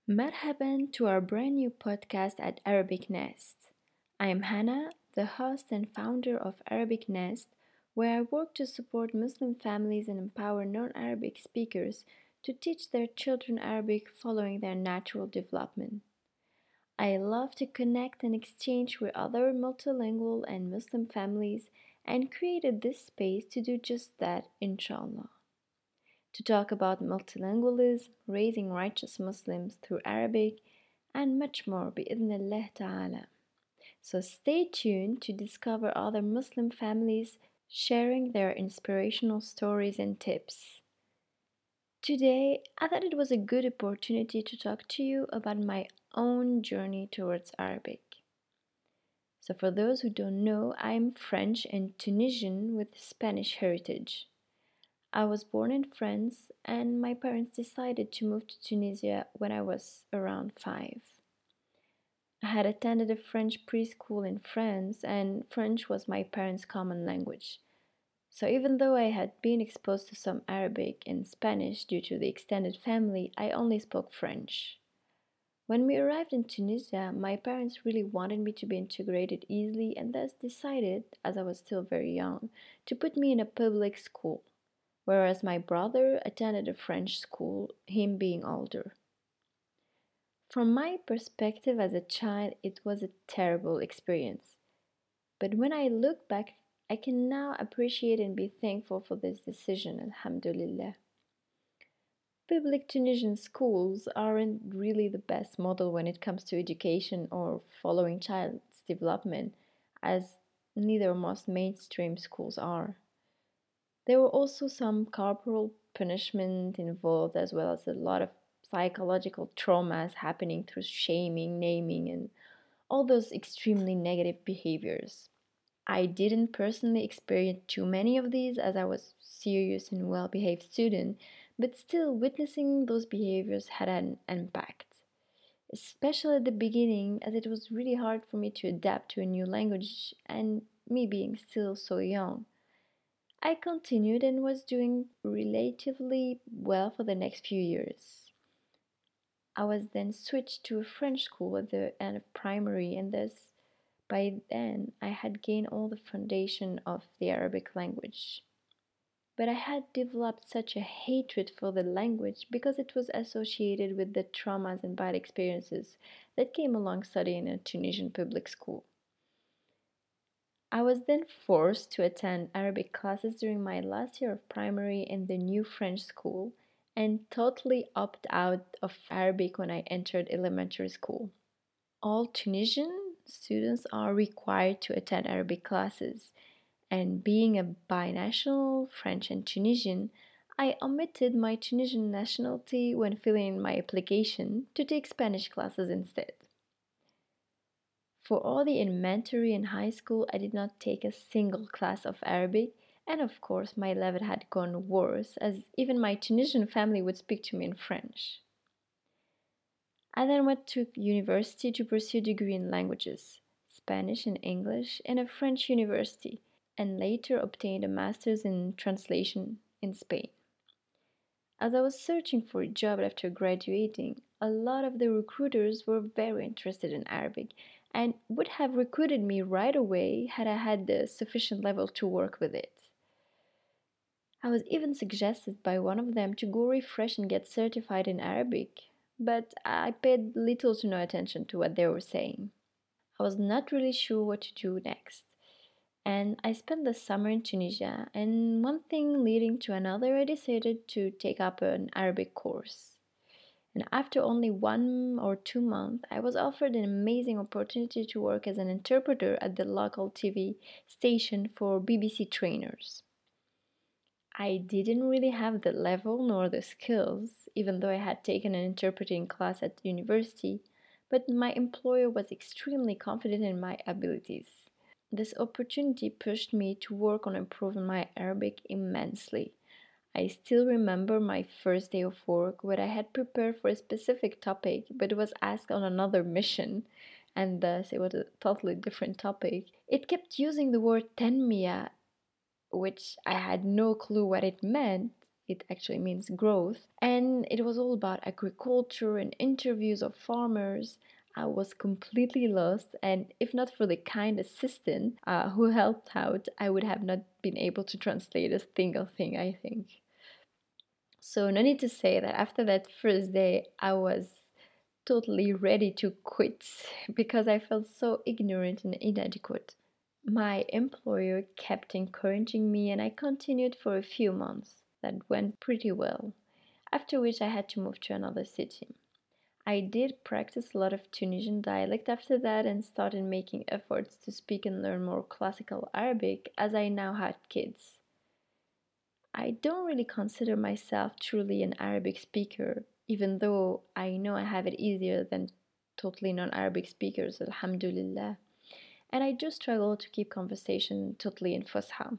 Marhaban to our brand new podcast at Arabic Nest. I am Hannah, the host and founder of Arabic Nest, where I work to support Muslim families and empower non Arabic speakers to teach their children Arabic following their natural development. I love to connect and exchange with other multilingual and Muslim families and created this space to do just that, inshallah, to talk about multilingualism, raising righteous Muslims through Arabic, and much more بإذن ta'ala. So stay tuned to discover other Muslim families sharing their inspirational stories and tips. Today, I thought it was a good opportunity to talk to you about my own journey towards Arabic. So, for those who don't know, I'm French and Tunisian with Spanish heritage. I was born in France, and my parents decided to move to Tunisia when I was around 5. I had attended a French preschool in France, and French was my parents' common language. So, even though I had been exposed to some Arabic and Spanish due to the extended family, I only spoke French. When we arrived in Tunisia, my parents really wanted me to be integrated easily and thus decided, as I was still very young, to put me in a public school, whereas my brother attended a French school, him being older. From my perspective as a child, it was a terrible experience. But when I look back, I can now appreciate and be thankful for this decision, alhamdulillah. Public Tunisian schools aren't really the best model when it comes to education or following child's development, as neither most mainstream schools are. There were also some corporal punishment involved, as well as a lot of psychological traumas happening through shaming, naming, and all those extremely negative behaviors. I didn't personally experience too many of these as I was serious and well-behaved student, but still witnessing those behaviors had an impact, especially at the beginning as it was really hard for me to adapt to a new language and me being still so young. I continued and was doing relatively well for the next few years. I was then switched to a French school at the end of primary, and thus by then I had gained all the foundation of the Arabic language. But I had developed such a hatred for the language because it was associated with the traumas and bad experiences that came along studying in a Tunisian public school. I was then forced to attend Arabic classes during my last year of primary in the new French school and totally opted out of Arabic when I entered elementary school. All Tunisian students are required to attend Arabic classes, and being a binational French and Tunisian, I omitted my Tunisian nationality when filling in my application to take Spanish classes instead. For all the elementary and high school, I did not take a single class of Arabic, and of course, my level had gone worse, as even my Tunisian family would speak to me in French. I then went to university to pursue a degree in languages, Spanish and English, in a French university, and later obtained a master's in translation in Spain. As I was searching for a job after graduating, a lot of the recruiters were very interested in Arabic and would have recruited me right away had I had the sufficient level to work with it. I was even suggested by one of them to go refresh and get certified in Arabic, but I paid little to no attention to what they were saying. I was not really sure what to do next. And I spent the summer in Tunisia, and one thing leading to another, I decided to take up an Arabic course. And after only 1 or 2 months, I was offered an amazing opportunity to work as an interpreter at the local TV station for BBC trainers. I didn't really have the level nor the skills, even though I had taken an interpreting class at university, but my employer was extremely confident in my abilities. This opportunity pushed me to work on improving my Arabic immensely. I still remember my first day of work where I had prepared for a specific topic but was asked on another mission, and thus it was a totally different topic. It kept using the word tenmia, which I had no clue what it meant, it actually means growth. And it was all about agriculture and interviews of farmers. I was completely lost, and if not for the kind assistant who helped out, I would have not been able to translate a single thing, I think. So, no need to say that after that first day, I was totally ready to quit because I felt so ignorant and inadequate. My employer kept encouraging me, and I continued for a few months. That went pretty well, after which I had to move to another city. I did practice a lot of Tunisian dialect after that and started making efforts to speak and learn more classical Arabic as I now had kids. I don't really consider myself truly an Arabic speaker, even though I know I have it easier than totally non Arabic speakers, alhamdulillah. And I do struggle to keep conversation totally in Fusha.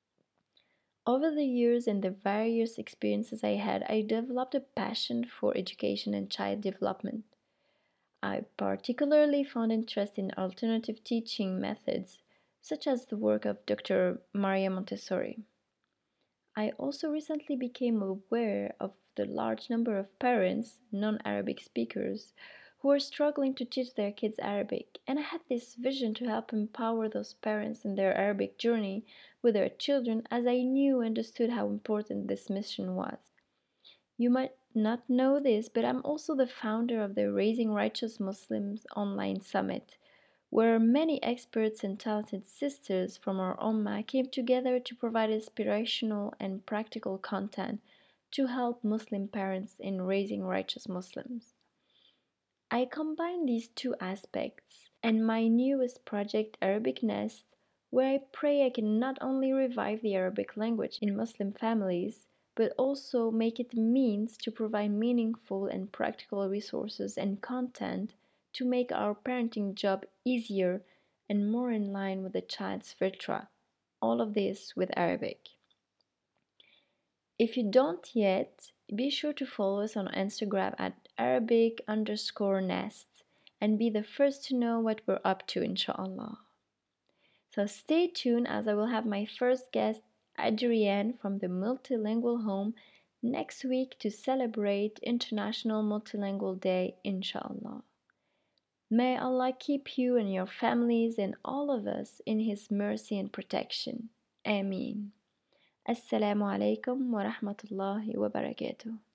Over the years and the various experiences I had, I developed a passion for education and child development. I particularly found interest in alternative teaching methods, such as the work of Dr. Maria Montessori. I also recently became aware of the large number of parents, non Arabic speakers, who are struggling to teach their kids Arabic, and I had this vision to help empower those parents in their Arabic journey with their children as I knew and understood how important this mission was. You might not know this, but I'm also the founder of the Raising Righteous Muslims online summit, where many experts and talented sisters from our Ummah came together to provide inspirational and practical content to help Muslim parents in raising righteous Muslims. I combine these two aspects and my newest project, Arabic Nest, where I pray I can not only revive the Arabic language in Muslim families, but also make it a means to provide meaningful and practical resources and content to make our parenting job easier and more in line with the child's fitra. All of this with Arabic. If you don't yet, be sure to follow us on Instagram at Arabic underscore nest and be the first to know what we're up to, inshallah. So stay tuned as I will have my first guest, Adrienne from the Multilingual Home, next week to celebrate International Multilingual Day, inshallah. May Allah keep you and your families and all of us in His mercy and protection. Ameen. Assalamu alaikum wa rahmatullahi wa barakatuh.